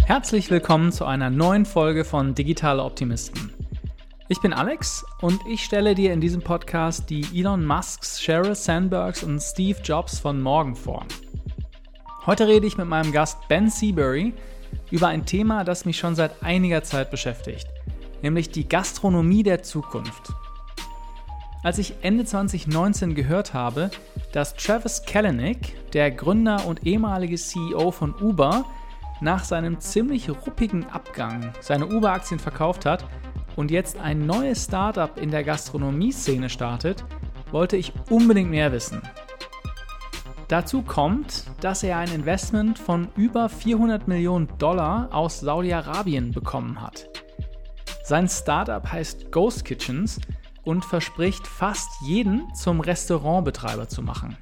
Herzlich willkommen zu einer neuen Folge von Digitale Optimisten. Ich bin Alex und ich stelle dir in diesem Podcast die Elon Musks, Sheryl Sandbergs und Steve Jobs von morgen vor. Heute rede ich mit meinem Gast Ben Seabury über ein Thema, das mich schon seit einiger Zeit beschäftigt, nämlich die Gastronomie der Zukunft. Als ich Ende 2019 gehört habe, dass Travis Kalanick, der Gründer und ehemalige CEO von Uber, nach seinem ziemlich ruppigen Abgang seine Uber-Aktien verkauft hat und jetzt ein neues Startup in der Gastronomie-Szene startet, wollte ich unbedingt mehr wissen. Dazu kommt, dass er ein Investment von über $400 Millionen aus Saudi-Arabien bekommen hat. Sein Startup heißt Ghost Kitchens und verspricht fast jeden zum Restaurantbetreiber zu machen.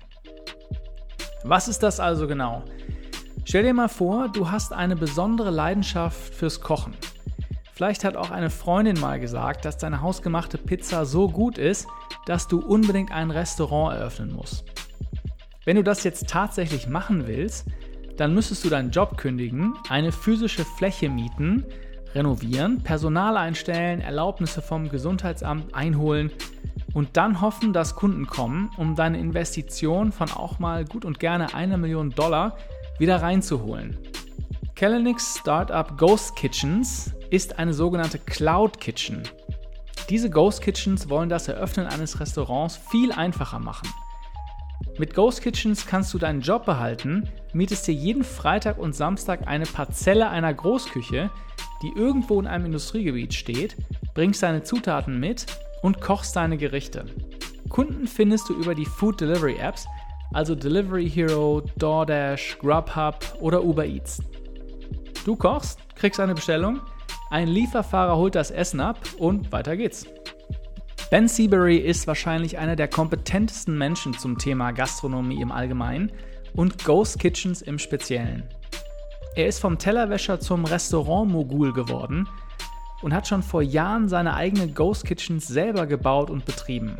Was ist das also genau? Stell dir mal vor, du hast eine besondere Leidenschaft fürs Kochen. Vielleicht hat auch eine Freundin mal gesagt, dass deine hausgemachte Pizza so gut ist, dass du unbedingt ein Restaurant eröffnen musst. Wenn du das jetzt tatsächlich machen willst, dann müsstest du deinen Job kündigen, eine physische Fläche mieten, renovieren, Personal einstellen, Erlaubnisse vom Gesundheitsamt einholen und dann hoffen, dass Kunden kommen, um deine Investition von auch mal gut und gerne $1 Million wieder reinzuholen. Kalanicks Startup Ghost Kitchens ist eine sogenannte Cloud Kitchen. Diese Ghost Kitchens wollen das Eröffnen eines Restaurants viel einfacher machen. Mit Ghost Kitchens kannst du deinen Job behalten, mietest dir jeden Freitag und Samstag eine Parzelle einer Großküche, die irgendwo in einem Industriegebiet steht, bringst deine Zutaten mit und kochst deine Gerichte. Kunden findest du über die Food Delivery Apps, also Delivery Hero, DoorDash, Grubhub oder Uber Eats. Du kochst, kriegst eine Bestellung, ein Lieferfahrer holt das Essen ab und weiter geht's. Ben Seabury ist wahrscheinlich einer der kompetentesten Menschen zum Thema Gastronomie im Allgemeinen und Ghost Kitchens im Speziellen. Er ist vom Tellerwäscher zum Restaurant-Mogul geworden und hat schon vor Jahren seine eigene Ghost Kitchens selber gebaut und betrieben.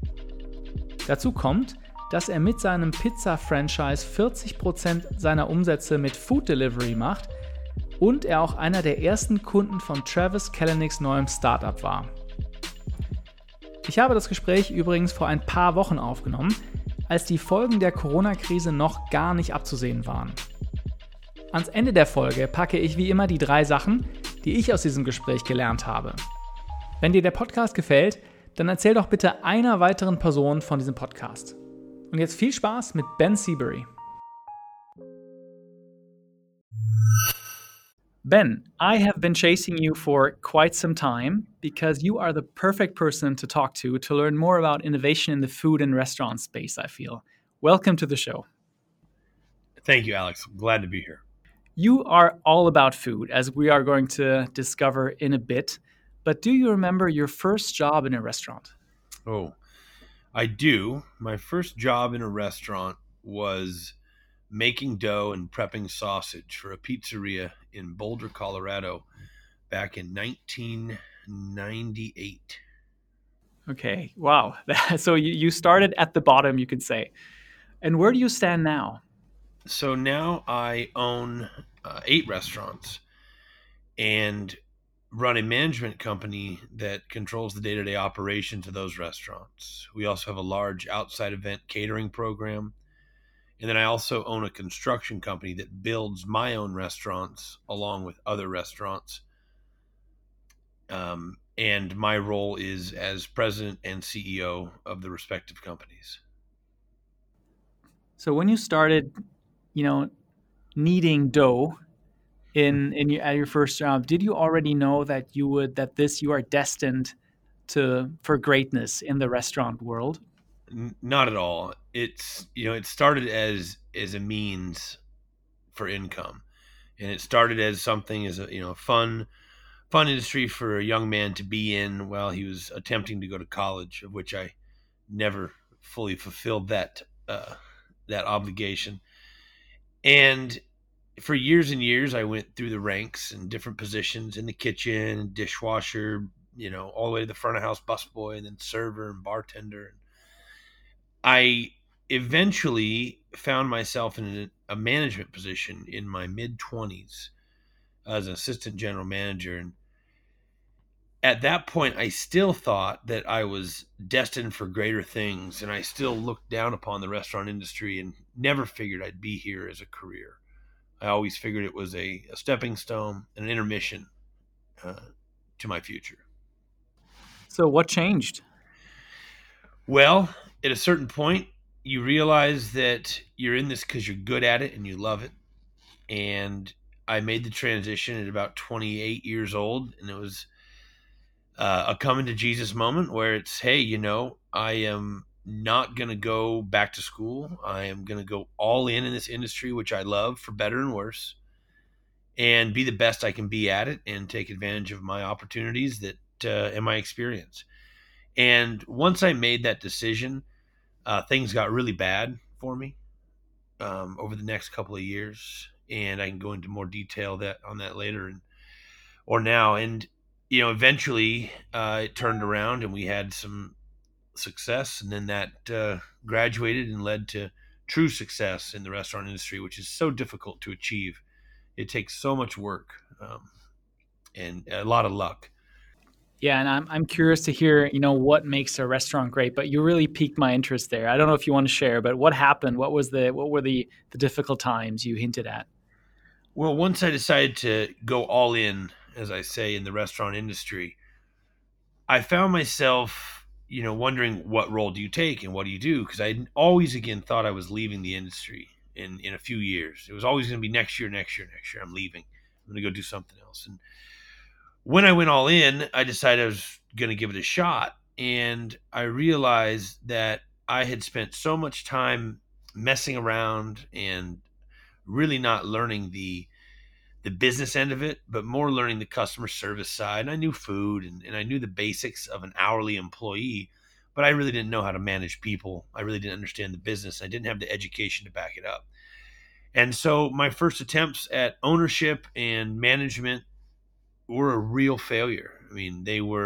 Dazu kommt, dass er mit seinem Pizza-Franchise 40% seiner Umsätze mit Food Delivery macht und er auch einer der ersten Kunden von Travis Kalanicks neuem Startup war. Ich habe das Gespräch übrigens vor ein paar Wochen aufgenommen, als die Folgen der Corona-Krise noch gar nicht abzusehen waren. Ans Ende der Folge packe ich wie immer die 3 Sachen, die ich aus diesem Gespräch gelernt habe. Wenn dir der Podcast gefällt, dann erzähl doch bitte einer weiteren Person von diesem Podcast. Und jetzt viel Spaß mit Ben Seabury. Ben, I have been chasing you for quite some time because you are the perfect person to talk to learn more about innovation in the food and restaurant space, I feel. Welcome to the show. Thank you, Alex. I'm glad to be here. You are all about food, as we are going to discover in a bit. But do you remember your first job in a restaurant? Oh, I do. My first job in a restaurant was making dough and prepping sausage for a pizzeria in Boulder, Colorado, back in 1998. Okay, wow. So you started at the bottom, you could say. And where do you stand now? So now I own 8 restaurants and run a management company that controls the day-to-day operations of those restaurants. We also have a large outside event catering program. And then I also own a construction company that builds my own restaurants along with other restaurants. And my role is as president and CEO of the respective companies. So when you started, kneading dough at your first job, did you already know that you are destined for greatness in the restaurant world? Not at all. It started as a means for income, and it started as something as a fun industry for a young man to be in while he was attempting to go to college, of which I never fully fulfilled that obligation. And for years and years, I went through the ranks in different positions in the kitchen, dishwasher, all the way to the front of house busboy, and then server and bartender. I eventually found myself in a management position in my mid-20s as an assistant general manager. And at that point, I still thought that I was destined for greater things. And I still looked down upon the restaurant industry and never figured I'd be here as a career. I always figured it was a stepping stone, an intermission uh, to my future. So what changed? Well, at a certain point, you realize that you're in this because you're good at it and you love it. And I made the transition at about 28 years old, and it was a coming to Jesus moment where it's, hey, I am not going to go back to school. I am going to go all in this industry, which I love, for better and worse, and be the best I can be at it and take advantage of my opportunities that and my experience. And once I made that decision, things got really bad for me over the next couple of years, and I can go into more detail on that later or now. And eventually it turned around, and we had some success, and then that graduated and led to true success in the restaurant industry, which is so difficult to achieve. It takes so much work and a lot of luck. Yeah, and I'm curious to hear, what makes a restaurant great, but you really piqued my interest there. I don't know if you want to share, but what happened? What were the difficult times you hinted at? Well, once I decided to go all in, as I say, in the restaurant industry, I found myself, wondering what role do you take and what do you do? Because I always again thought I was leaving the industry in a few years. It was always going to be next year, next year, next year. I'm leaving. I'm going to go do something else. And when I went all in, I decided I was going to give it a shot. And I realized that I had spent so much time messing around and really not learning the business end of it, but more learning the customer service side. And I knew food and I knew the basics of an hourly employee, but I really didn't know how to manage people. I really didn't understand the business. I didn't have the education to back it up. And so my first attempts at ownership and management were a real failure. I mean,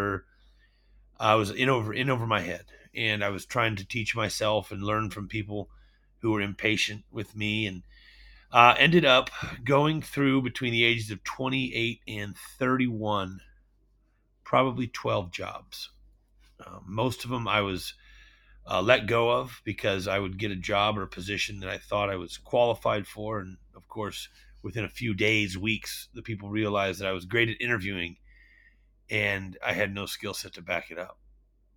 I was in over my head, and I was trying to teach myself and learn from people who were impatient with me, and ended up going through between the ages of 28 and 31, probably 12 jobs. Most of them I was let go of because I would get a job or a position that I thought I was qualified for. And of course, within a few days, weeks, the people realized that I was great at interviewing and I had no skill set to back it up.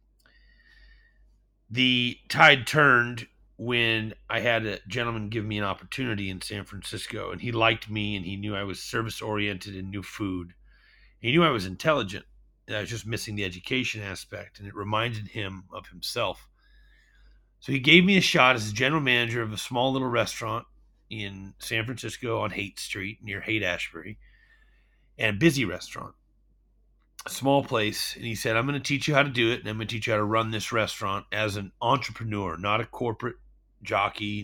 The tide turned when I had a gentleman give me an opportunity in San Francisco, and he liked me, and he knew I was service oriented and knew food. He knew I was intelligent, and I was just missing the education aspect, and it reminded him of himself. So he gave me a shot as general manager of a small little restaurant in San Francisco on Haight Street near Haight-Ashbury, and a busy restaurant, a small place. And he said, I'm going to teach you how to do it, and I'm going to teach you how to run this restaurant as an entrepreneur, not a corporate jockey,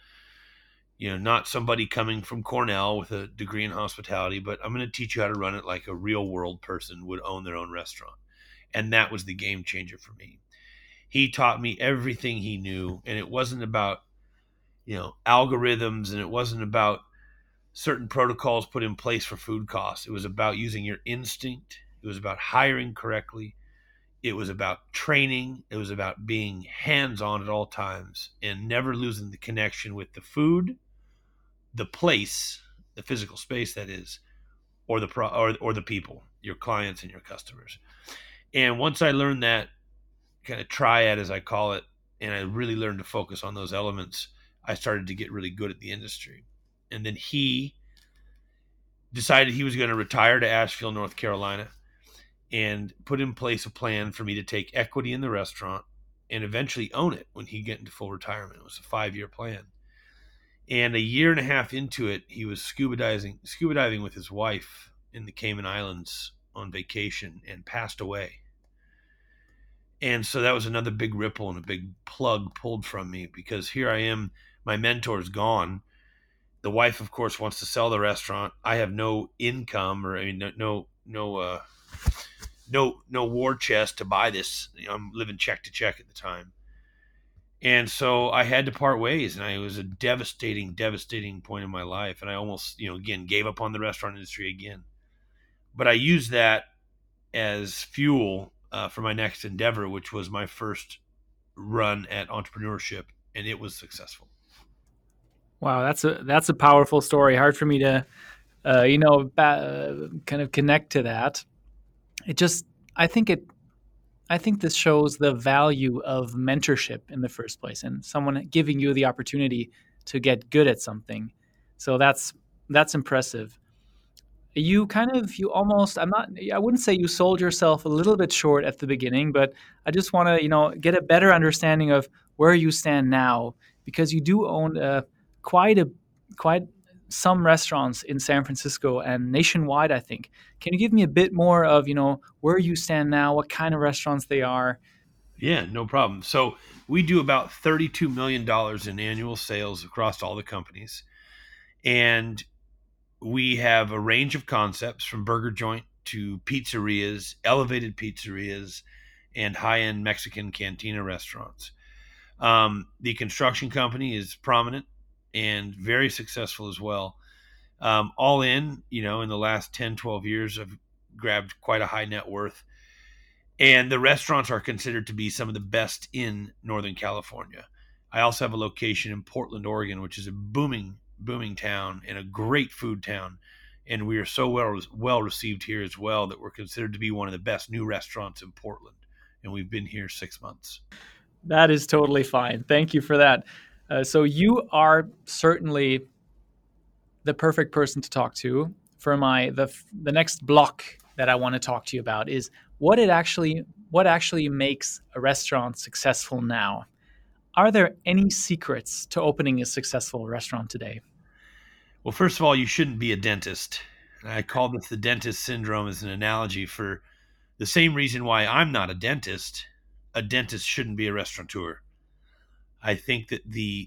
not somebody coming from Cornell with a degree in hospitality, but I'm going to teach you how to run it like a real world person would own their own restaurant. And that was the game changer for me. He taught me everything he knew, and it wasn't about, algorithms, and it wasn't about certain protocols put in place for food costs. It was about using your instinct. It was about hiring correctly. It was about training. It was about being hands-on at all times and never losing the connection with the food, the place, the physical space that is, or the people, your clients and your customers. And once I learned that kind of triad, as I call it, and I really learned to focus on those elements, I started to get really good at the industry. And then he decided he was going to retire to Asheville, North Carolina, and put in place a plan for me to take equity in the restaurant and eventually own it when he get into full retirement. It was a 5-year plan. And a year and a half into it, he was scuba diving with his wife in the Cayman Islands on vacation and passed away. And so that was another big ripple and a big plug pulled from me, because here I am, my mentor's gone. The wife, of course, wants to sell the restaurant. I have no income, or no war chest to buy this. I'm living check to check at the time. And so I had to part ways, and it was a devastating point in my life. And I almost, again, gave up on the restaurant industry again. But I used that as fuel for my next endeavor, which was my first run at entrepreneurship, and it was successful. Wow, that's a powerful story. Hard for me to, kind of connect to that. It just, I think it, I think this shows the value of mentorship in the first place, and someone giving you the opportunity to get good at something. So that's impressive. You almost, I wouldn't say you sold yourself a little bit short at the beginning, but I just want to, get a better understanding of where you stand now, because you do own quite a quite some restaurants in San Francisco and nationwide, I think. Can you give me a bit more of, where you stand now, what kind of restaurants they are? Yeah, no problem. So we do about $32 million in annual sales across all the companies. And we have a range of concepts from burger joint to pizzerias, elevated pizzerias, and high end Mexican cantina restaurants. The construction company is prominent and very successful as well. All in, in the last 10, 12 years, I've grabbed quite a high net worth. And the restaurants are considered to be some of the best in Northern California. I also have a location in Portland, Oregon, which is a booming town and a great food town. And we are so well received here as well that we're considered to be one of the best new restaurants in Portland. And we've been here 6 months. That is totally fine. Thank you for that. So you are certainly the perfect person to talk to for the next block that I want to talk to you about is what actually makes a restaurant successful now. Are there any secrets to opening a successful restaurant today? Well, first of all, you shouldn't be a dentist. I call this the dentist syndrome as an analogy for the same reason why I'm not a dentist. A dentist shouldn't be a restaurateur. I think that the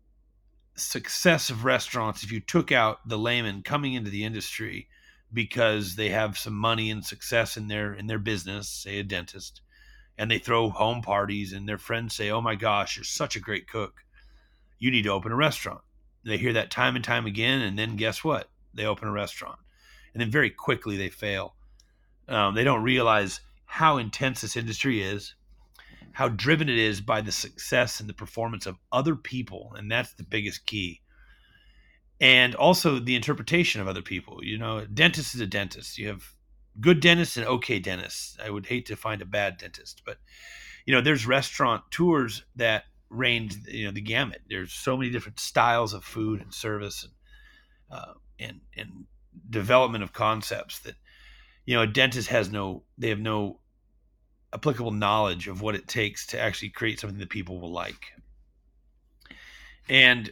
success of restaurants, if you took out the layman coming into the industry because they have some money and success in their business, say a dentist, and they throw home parties and their friends say, "Oh my gosh, you're such a great cook. You need to open a restaurant." They hear that time and time again, and then guess what? They open a restaurant. And then very quickly they fail. They don't realize how intense this industry is, how driven it is by the success and the performance of other people. And that's the biggest key. And also the interpretation of other people. A dentist is a dentist. You have good dentists and okay dentists. I would hate to find a bad dentist, but there's restaurant tours that range, the gamut. There's so many different styles of food and service and development of concepts that, a dentist have no applicable knowledge of what it takes to actually create something that people will like. And,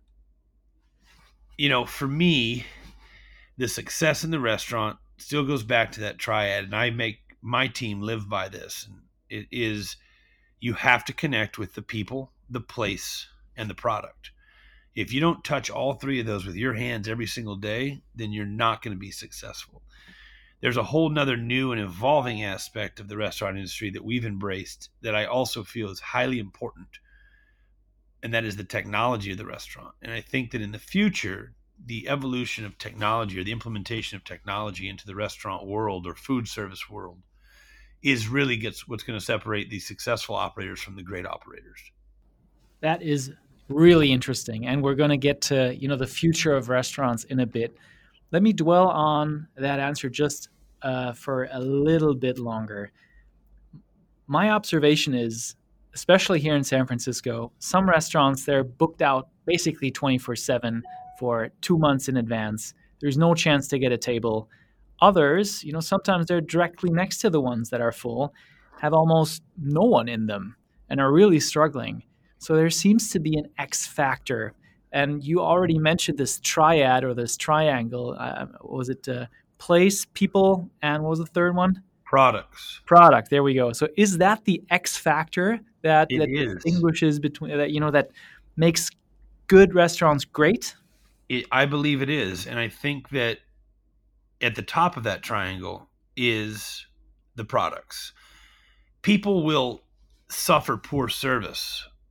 for me, the success in the restaurant still goes back to that triad. And I make my team live by this. And it is, you have to connect with the people, the place, and the product. If you don't touch all three of those with your hands every single day, then you're not going to be successful. There's a whole nother new and evolving aspect of the restaurant industry that we've embraced that I also feel is highly important, and that is the technology of the restaurant. And I think that in the future, the evolution of technology or the implementation of technology into the restaurant world or food service world is really what's going to separate the successful operators from the great operators. That is really interesting. And we're going to get to, the future of restaurants in a bit. Let me dwell on that answer just for a little bit longer. My observation is, especially here in San Francisco, some restaurants, they're booked out basically 24/7 for 2 months in advance. There's no chance to get a table. Others, sometimes they're directly next to the ones that are full, have almost no one in them and are really struggling. So there seems to be an X factor. And you already mentioned this triad or this triangle. Was it place, people, and what was the third one? Products. Product. There we go. So is that the X factor that distinguishes between that makes good restaurants great? I believe it is. And I think that at the top of that triangle is the products. People will suffer poor service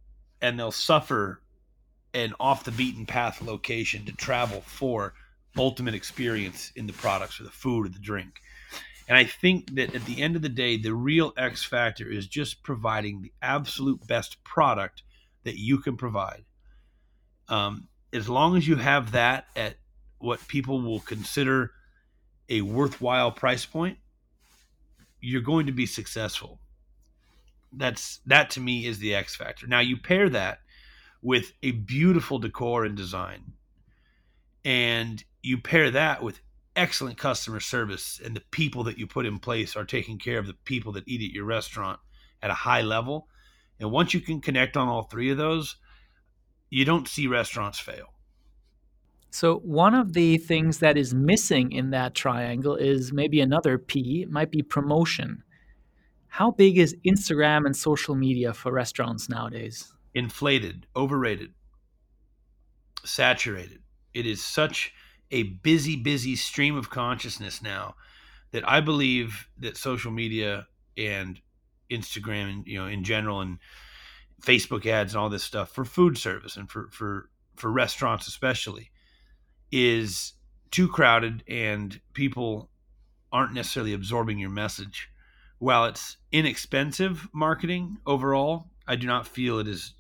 and they'll suffer an off the beaten path location to travel for ultimate experience in the products or the food or the drink. And I think that at the end of the day, the real X factor is just providing the absolute best product that you can provide. As long as you have that at what people will consider a worthwhile price point, you're going to be successful. That to me is the X factor. Now you pair that with a beautiful decor and design, and you pair that with excellent customer service, and the people that you put in place are taking care of the people that eat at your restaurant at a high level. And once you can connect on all three of those, you don't see restaurants fail. So one of the things that is missing in that triangle is maybe another P, it might be promotion. How big is Instagram and social media for restaurants nowadays? Inflated, overrated, saturated. It is such a busy stream of consciousness now that I believe that social media and Instagram and in general, and Facebook ads and all this stuff for food service and for restaurants especially, is too crowded, and people aren't necessarily absorbing your message. While it's inexpensive marketing overall, I do not feel it is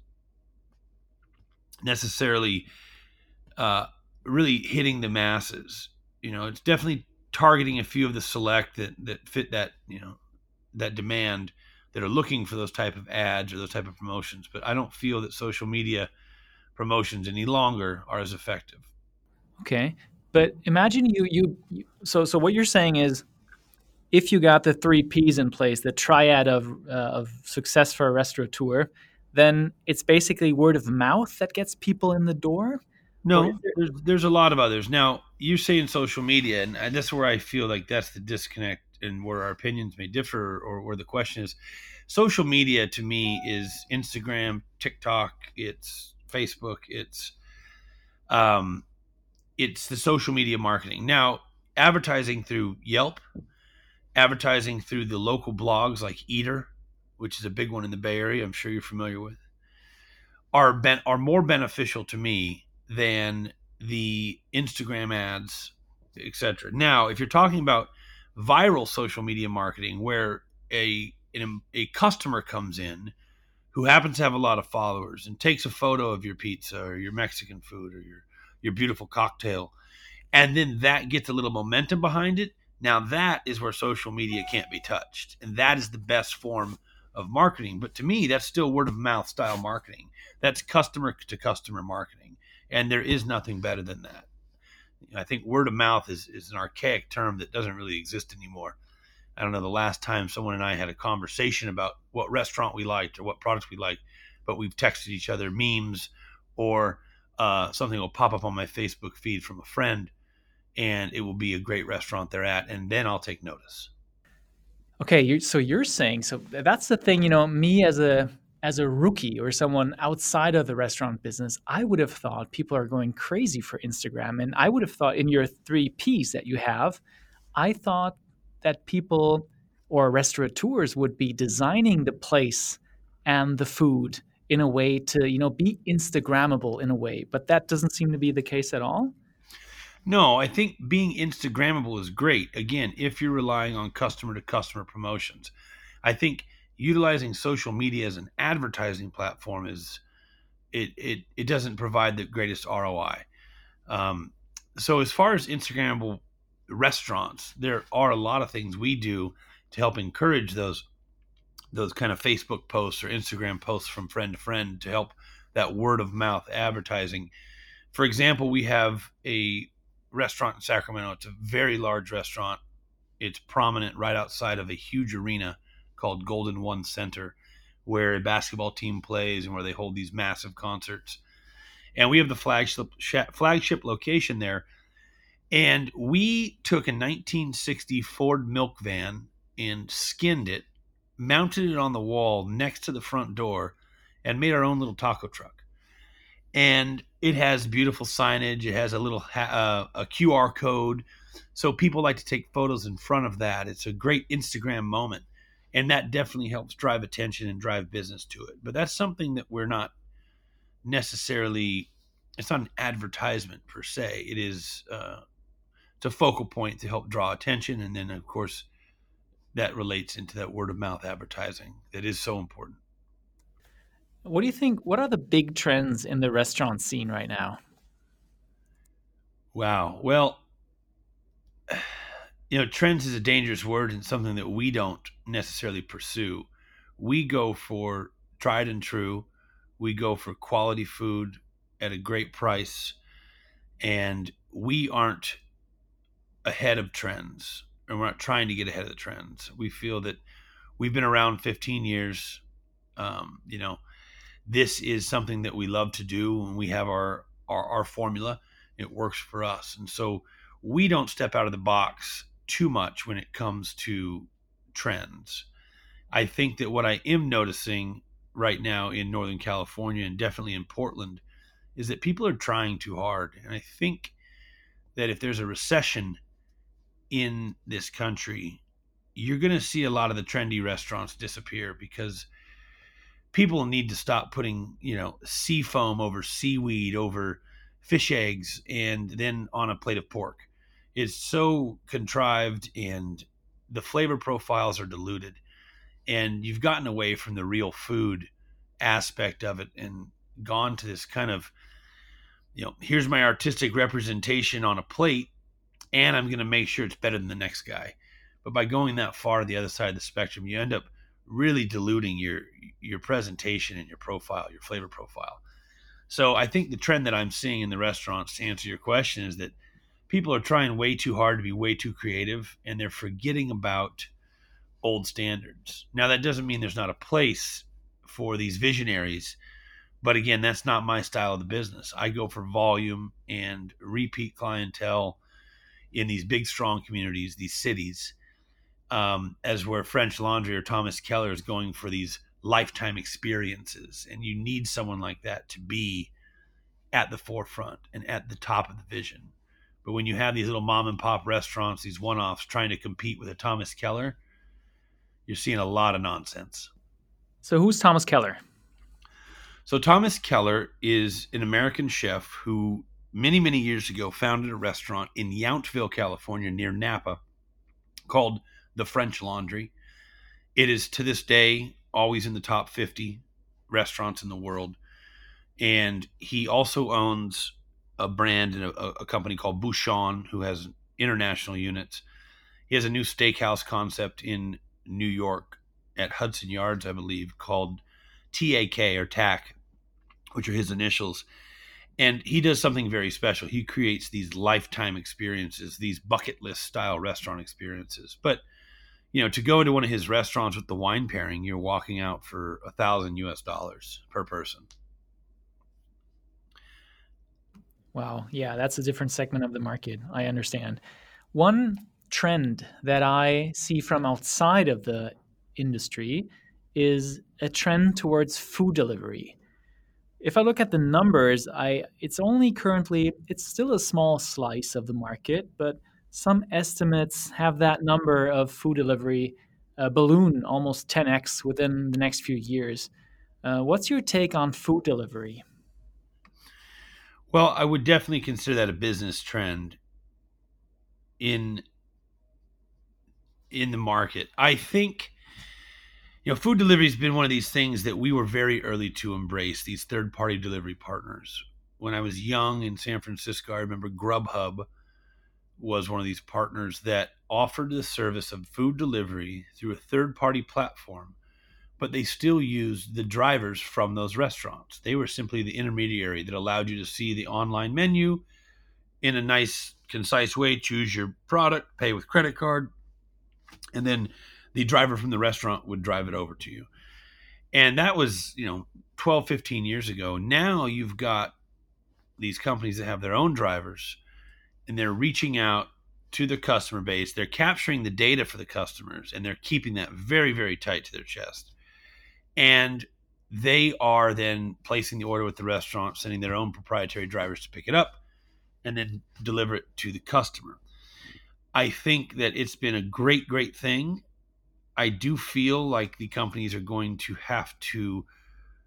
necessarily really hitting the masses. It's definitely targeting a few of the select that fit that that demand, that are looking for those type of ads or those type of promotions. But I don't feel that social media promotions any longer are as effective. Okay, but imagine so what you're saying is, if you got the three P's in place, the triad of success for a restaurateur, then it's basically word of mouth that gets people in the door? No, there's a lot of others. Now, you say in social media, and that's where I feel like that's the disconnect and where our opinions may differ, or where the question is. Social media to me is Instagram, TikTok, it's Facebook, it's the social media marketing. Now, advertising through Yelp, advertising through the local blogs like Eater, which is a big one in the Bay Area, I'm sure you're familiar with, are more beneficial to me than the Instagram ads, etc. Now, if you're talking about viral social media marketing, where a customer comes in who happens to have a lot of followers and takes a photo of your pizza or your Mexican food or your beautiful cocktail, and then that gets a little momentum behind it, now that is where social media can't be touched, and that is the best form of marketing. But to me, that's still word of mouth style marketing. That's customer to customer marketing, and there is nothing better than that. I think word of mouth is an archaic term that doesn't really exist anymore. I don't know the last time someone and I had a conversation about what restaurant we liked or what products we liked, but we've texted each other memes, or something will pop up on my Facebook feed from a friend, and it will be a great restaurant they're at, and then I'll take notice. Okay, so you're saying, so that's the thing, me as a rookie or someone outside of the restaurant business, I would have thought people are going crazy for Instagram. And I would have thought in your three P's that you have, I thought that people or restaurateurs would be designing the place and the food in a way to, be Instagrammable in a way. But that doesn't seem to be the case at all. No, I think being Instagrammable is great. Again, if you're relying on customer to customer promotions, I think utilizing social media as an advertising platform it doesn't provide the greatest ROI. So as far as Instagrammable restaurants, there are a lot of things we do to help encourage those kind of Facebook posts or Instagram posts from friend to friend to help that word of mouth advertising. For example, we have a restaurant in Sacramento. It's a very large restaurant. It's prominent right outside of a huge arena called Golden One Center, where a basketball team plays and where they hold these massive concerts. And we have the flagship location there. And we took a 1960 Ford milk van and skinned it, mounted it on the wall next to the front door, and made our own little taco truck. And it has beautiful signage. It has a little a QR code, so people like to take photos in front of that. It's a great Instagram moment, and that definitely helps drive attention and drive business to it. But that's something that we're not necessarily, it's not an advertisement per se. It is, it's a focal point to help draw attention. And then, of course, that relates into that word of mouth advertising that is so important. What do you think? What are the big trends in the restaurant scene right now? Wow. Well, trends is a dangerous word and something that we don't necessarily pursue. We go for tried and true. We go for quality food at a great price, and we aren't ahead of trends, and we're not trying to get ahead of the trends. We feel that we've been around 15 years. You know, this is something that we love to do, and we have our formula. It works for us, and so we don't step out of the box too much when it comes to trends. I think that what I am noticing right now in Northern California and definitely in Portland is that people are trying too hard. And I think that if there's a recession in this country, you're going to see a lot of the trendy restaurants disappear because people need to stop putting, sea foam over seaweed, over fish eggs, and then on a plate of pork. It's so contrived and the flavor profiles are diluted. And you've gotten away from the real food aspect of it and gone to this kind of, here's my artistic representation on a plate, and I'm going to make sure it's better than the next guy. But by going that far to the other side of the spectrum, you end up really diluting your presentation and your profile, your flavor profile. So I think the trend that I'm seeing in the restaurants, to answer your question, is that people are trying way too hard to be way too creative, and they're forgetting about old standards. Now, that doesn't mean there's not a place for these visionaries, but again, that's not my style of the business. I go for volume and repeat clientele in these big, strong communities, these cities, as where French Laundry or Thomas Keller is going for these lifetime experiences. And you need someone like that to be at the forefront and at the top of the vision. But when you have these little mom and pop restaurants, these one-offs trying to compete with a Thomas Keller, you're seeing a lot of nonsense. So who's Thomas Keller? So Thomas Keller is an American chef who many, many years ago founded a restaurant in Yountville, California, near Napa, called the French Laundry. It is to this day always in the top 50 restaurants in the world. And he also owns a brand and a company called Bouchon, who has international units. He has a new steakhouse concept in New York at Hudson Yards, I believe, called TAK or TAC, which are his initials. And he does something very special. He creates these lifetime experiences, these bucket list style restaurant experiences. But, to go into one of his restaurants with the wine pairing, you're walking out for $1,000 per person. Wow. Yeah, that's a different segment of the market. I understand. One trend that I see from outside of the industry is a trend towards food delivery. If I look at the numbers, it's still a small slice of the market, but some estimates have that number of food delivery balloon almost 10x within the next few years. What's your take on food delivery? Well, I would definitely consider that a business trend in the market. I think food delivery has been one of these things that we were very early to embrace, these third-party delivery partners. When I was young in San Francisco, I remember Grubhub was one of these partners that offered the service of food delivery through a third-party platform, but they still used the drivers from those restaurants. They were simply the intermediary that allowed you to see the online menu in a nice, concise way, choose your product, pay with credit card, and then the driver from the restaurant would drive it over to you. And that was, 12, 15 years ago. Now you've got these companies that have their own drivers, and they're reaching out to the customer base. They're capturing the data for the customers, and they're keeping that very, very tight to their chest. And they are then placing the order with the restaurant, sending their own proprietary drivers to pick it up, and then deliver it to the customer. I think that it's been a great, great thing. I do feel like the companies are going to have to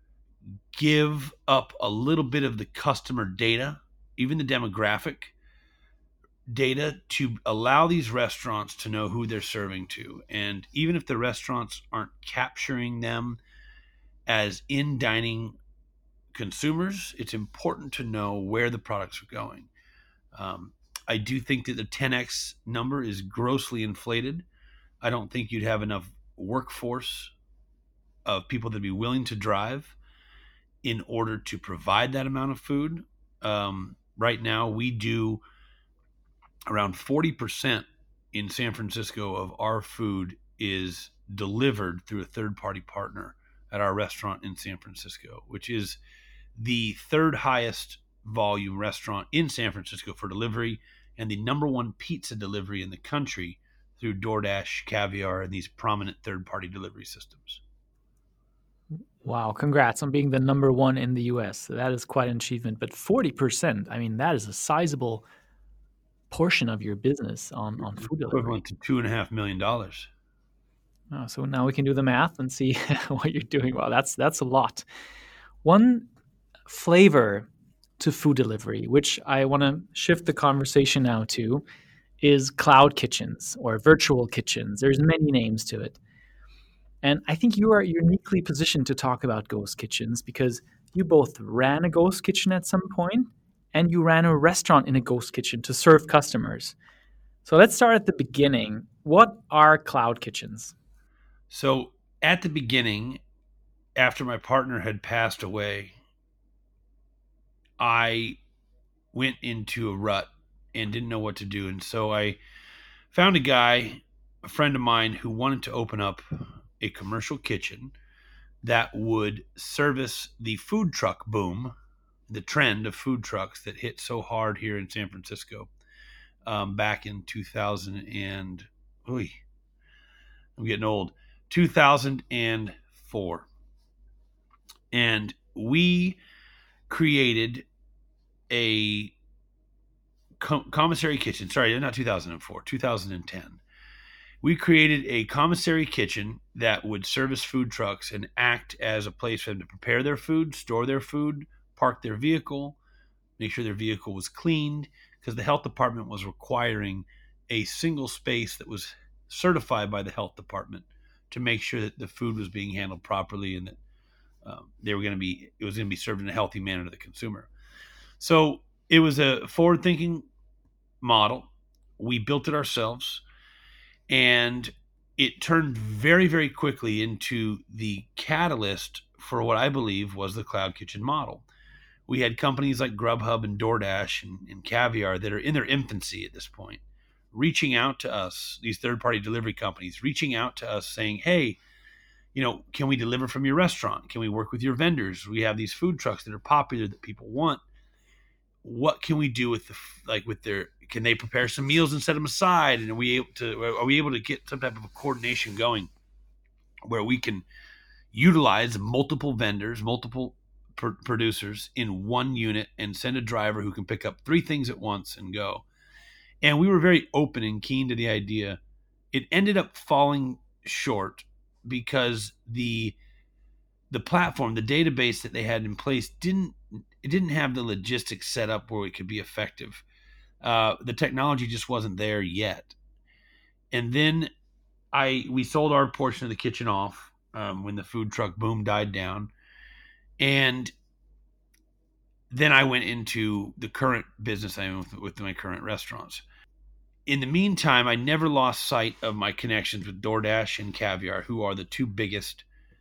give up a little bit of the customer data, even the demographic data, to allow these restaurants to know who they're serving to. And even if the restaurants aren't capturing them as in dining consumers, it's important to know where the products are going. I do think that the 10x number is grossly inflated. I don't think you'd have enough workforce of people that'd be willing to drive in order to provide that amount of food. Right now, we do around 40% in San Francisco of our food is delivered through a third-party partner at our restaurant in San Francisco, which is the third highest volume restaurant in San Francisco for delivery and the number one pizza delivery in the country through DoorDash, Caviar, and these prominent third-party delivery systems. Wow, congrats on being the number one in the US. That is quite an achievement. But 40%, I mean, that is a sizable portion of your business on food delivery. Equivalent to $2.5 million. Oh, so now we can do the math and see what you're doing. Well, that's a lot. One flavor to food delivery, which I want to shift the conversation now to, is cloud kitchens or virtual kitchens. There's many names to it. And I think you are uniquely positioned to talk about ghost kitchens because you both ran a ghost kitchen at some point and you ran a restaurant in a ghost kitchen to serve customers. So let's start at the beginning. What are cloud kitchens? So at the beginning, after my partner had passed away, I went into a rut and didn't know what to do. And so I found a friend of mine, who wanted to open up a commercial kitchen that would service the food truck boom, the trend of food trucks that hit so hard here in San Francisco back in 2004. And we created a commissary kitchen. Sorry, not 2004, 2010. We created a commissary kitchen that would service food trucks and act as a place for them to prepare their food, store their food, park their vehicle, make sure their vehicle was cleaned, because the health department was requiring a single space that was certified by the health department to make sure that the food was being handled properly and that it was going to be served in a healthy manner to the consumer. So it was a forward-thinking model. We built it ourselves, and it turned very, very quickly into the catalyst for what I believe was the cloud kitchen model. We had companies like Grubhub and DoorDash and Caviar that are in their infancy at this point, reaching out to us, these third-party delivery companies, reaching out to us saying, hey, can we deliver from your restaurant? Can we work with your vendors? We have these food trucks that are popular that people want. What can we do with can they prepare some meals and set them aside? And are we able to get some type of a coordination going where we can utilize multiple vendors, multiple producers in one unit and send a driver who can pick up 3 things at once and go? And we were very open and keen to the idea. It ended up falling short because the platform, the database that they had in place didn't have the logistics set up where it could be effective. The technology just wasn't there yet. And then we sold our portion of the kitchen off when the food truck boom died down. And then I went into the current business I'm in with my current restaurants. In the meantime, I never lost sight of my connections with DoorDash and Caviar, who are the 2 biggest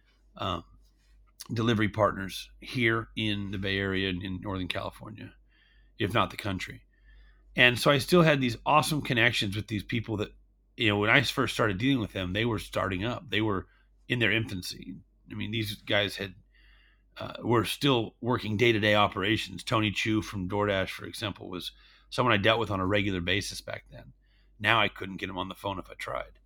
delivery partners here in the Bay Area and in Northern California, if not the country. And so I still had these awesome connections with these people that, when I first started dealing with them, they were starting up. They were in their infancy. I mean, these guys were still working day-to-day operations. Tony Chu from DoorDash, for example, was someone I dealt with on a regular basis back then. Now I couldn't get him on the phone if I tried.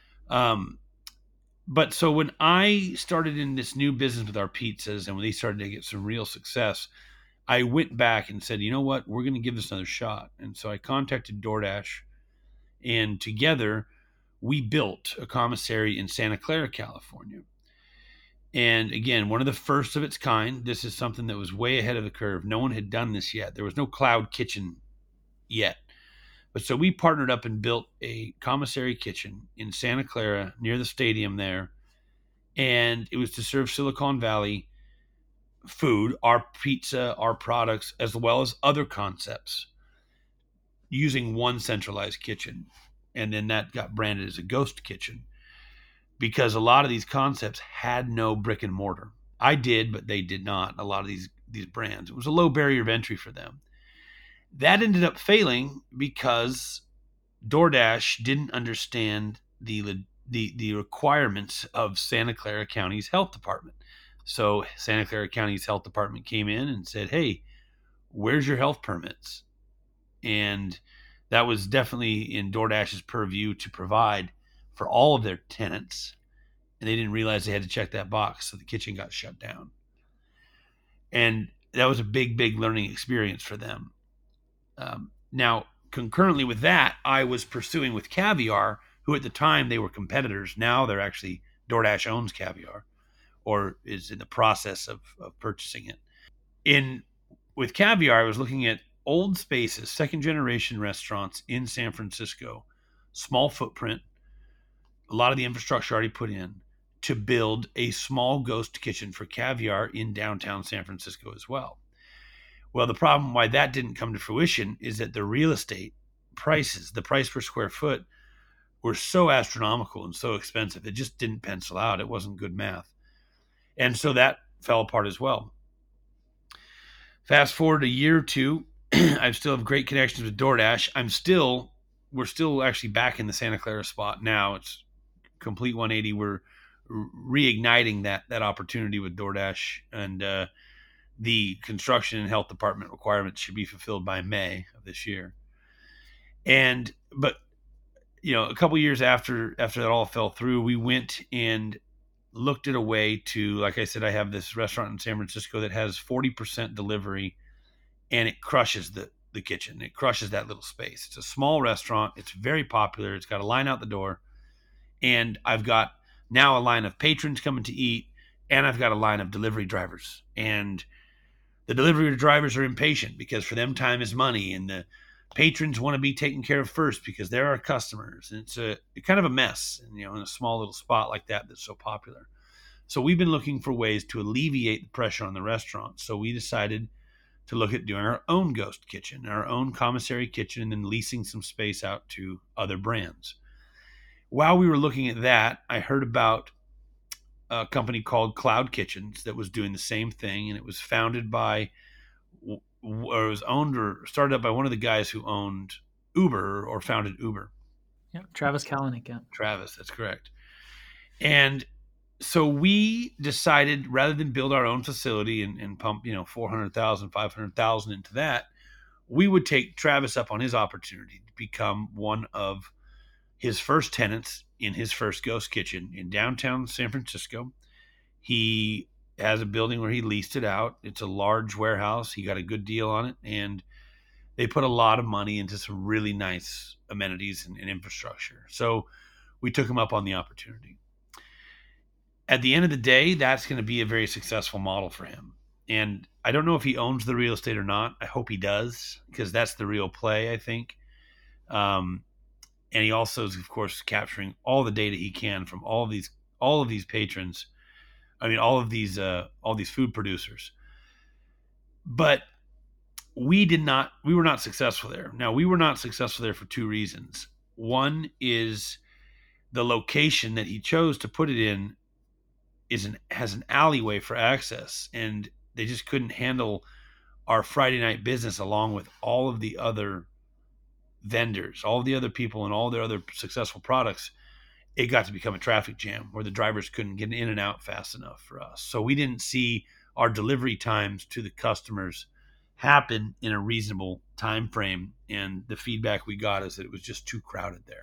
But so when I started in this new business with our pizzas and when they started to get some real success, I went back and said, you know what, we're going to give this another shot. And so I contacted DoorDash, and together we built a commissary in Santa Clara, California. And again, one of the first of its kind. This is something that was way ahead of the curve. No one had done this yet. There was no cloud kitchen yet. But so we partnered up and built a commissary kitchen in Santa Clara near the stadium there. And it was to serve Silicon Valley food, our pizza, our products, as well as other concepts using one centralized kitchen. And then that got branded as a ghost kitchen because a lot of these concepts had no brick and mortar. I did, but they did not. A lot of these brands, it was a low barrier of entry for them. That ended up failing because DoorDash didn't understand the requirements of Santa Clara County's health department. So Santa Clara County's health department came in and said, "Hey, where's your health permits?" And that was definitely in DoorDash's purview to provide for all of their tenants. And they didn't realize they had to check that box. So the kitchen got shut down. And that was a big, big learning experience for them. Now, concurrently with that, I was pursuing with Caviar, who at the time they were competitors. Now they're actually, DoorDash owns Caviar or is in the process of purchasing it. With Caviar, I was looking at old spaces, second generation restaurants in San Francisco, small footprint, a lot of the infrastructure already put in, to build a small ghost kitchen for Caviar in downtown San Francisco as well. Well, the problem why that didn't come to fruition is that the real estate prices, the price per square foot, were so astronomical and so expensive. It just didn't pencil out. It wasn't good math. And so that fell apart as well. Fast forward a year or two, I still have great connections with DoorDash. We're still actually back in the Santa Clara spot now. It's complete 180. We're reigniting that opportunity with DoorDash, and the construction and health department requirements should be fulfilled by May of this year. But a couple years after that all fell through, we went and looked at a way to, like I said, I have this restaurant in San Francisco that has 40% delivery, and it crushes the kitchen. It crushes that little space. It's a small restaurant. It's very popular. It's got a line out the door, and I've got now a line of patrons coming to eat, and I've got a line of delivery drivers. And the delivery drivers are impatient because for them time is money, and the patrons want to be taken care of first because they're our customers. And it's kind of a mess, in a small little spot like that that's so popular. So we've been looking for ways to alleviate the pressure on the restaurant. So we decided to look at doing our own ghost kitchen, our own commissary kitchen, and then leasing some space out to other brands. While we were looking at that, I heard about a company called Cloud Kitchens that was doing the same thing, and it was founded by, or it was owned or started up by one of the guys who owned Uber or founded Uber. Yeah, Travis Kalanick. Yeah, Travis, that's correct. And so we decided, rather than build our own facility and pump, $400,000, $500,000 into that, we would take Travis up on his opportunity to become one of his first tenants in his first ghost kitchen in downtown San Francisco. He has a building where he leased it out. It's a large warehouse. He got a good deal on it, and they put a lot of money into some really nice amenities and infrastructure. So we took him up on the opportunity. At the end of the day, that's going to be a very successful model for him. And I don't know if he owns the real estate or not. I hope he does, because that's the real play, I think. And he also is, of course, capturing all the data he can from all of these patrons. I mean, all these food producers. But we were not successful there. Now, we were not successful there for two reasons. One is the location that he chose to put it in has an alleyway for access, and they just couldn't handle our Friday night business along with all of the other vendors, all of the other people, and all their other successful products. It got to become a traffic jam where the drivers couldn't get in and out fast enough for us. So we didn't see our delivery times to the customers happen in a reasonable time frame, and the feedback we got is that it was just too crowded there.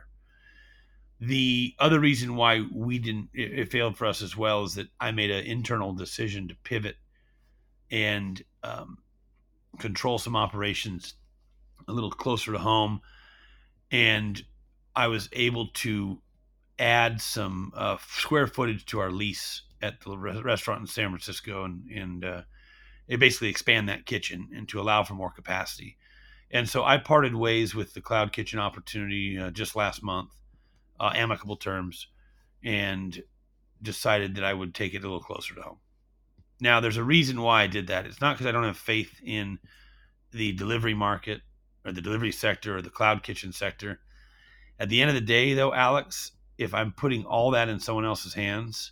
The other reason why it failed for us as well is that I made an internal decision to pivot and control some operations a little closer to home. And I was able to add some square footage to our lease at the restaurant in San Francisco, and they basically expand that kitchen and to allow for more capacity. And so I parted ways with the Cloud Kitchen opportunity just last month, amicable terms, and decided that I would take it a little closer to home. Now, there's a reason why I did that. It's not because I don't have faith in the delivery market or the delivery sector or the Cloud Kitchen sector. At the end of the day, though, Alex, if I'm putting all that in someone else's hands,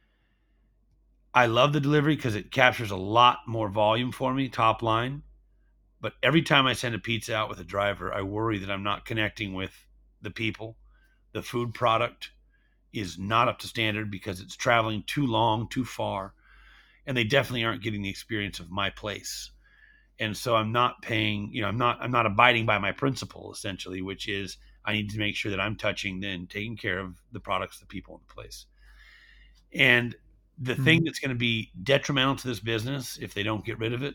I love the delivery because it captures a lot more volume for me, top line. But every time I send a pizza out with a driver, I worry that I'm not connecting with the people. The food product is not up to standard because it's traveling too long, too far, and they definitely aren't getting the experience of my place. And so I'm not paying, I'm not abiding by my principle essentially, which is I need to make sure that I'm touching and taking care of the products, the people in the place. And the thing that's going to be detrimental to this business if they don't get rid of it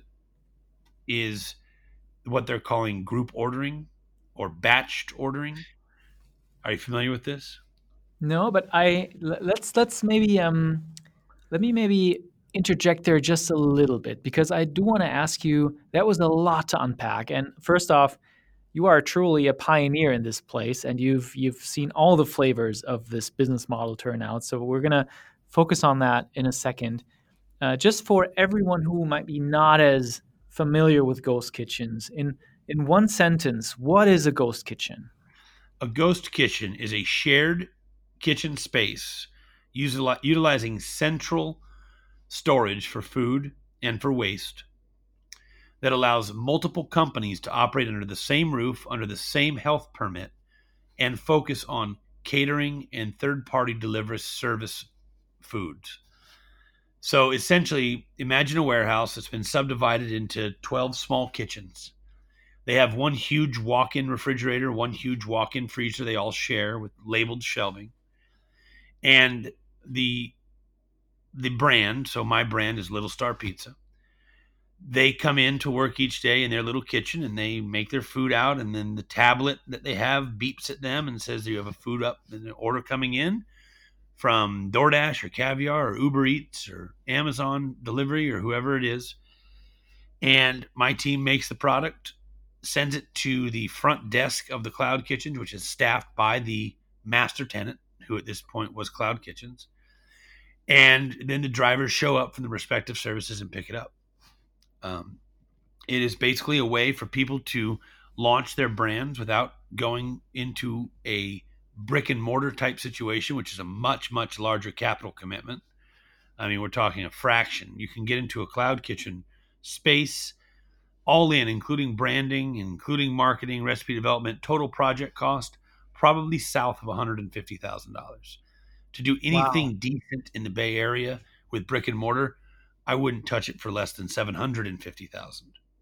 is what they're calling group ordering or batched ordering. Are you familiar with this? No, but let's maybe let me maybe interject there just a little bit because I do want to ask you. That was a lot to unpack. And first off, you are truly a pioneer in this place, and you've seen all the flavors of this business model turn out. So we're gonna focus on that in a second. Just for everyone who might be not as familiar with ghost kitchens, in one sentence, what is a ghost kitchen? A ghost kitchen is a shared kitchen space utilizing central storage for food and for waste that allows multiple companies to operate under the same roof, under the same health permit, and focus on catering and third-party delivery service foods. So essentially, imagine a warehouse that's been subdivided into 12 small kitchens. They have one huge walk-in refrigerator, one huge walk-in freezer they all share with labeled shelving. And the brand, so my brand is Little Star Pizza. They come in to work each day in their little kitchen and they make their food out, and then the tablet that they have beeps at them and says you have a food up and an order coming in from DoorDash or Caviar or Uber Eats or Amazon delivery or whoever it is. And my team makes the product, sends it to the front desk of the Cloud Kitchens, which is staffed by the master tenant, who at this point was Cloud Kitchens. And then the drivers show up from the respective services and pick it up. It is basically a way for people to launch their brands without going into a brick and mortar type situation, which is a much, much larger capital commitment. I mean, we're talking a fraction. You can get into a Cloud Kitchen space all in, including branding, including marketing, recipe development, total project cost, probably south of $150,000. To do anything decent in the Bay Area with brick and mortar, I wouldn't touch it for less than $750,000.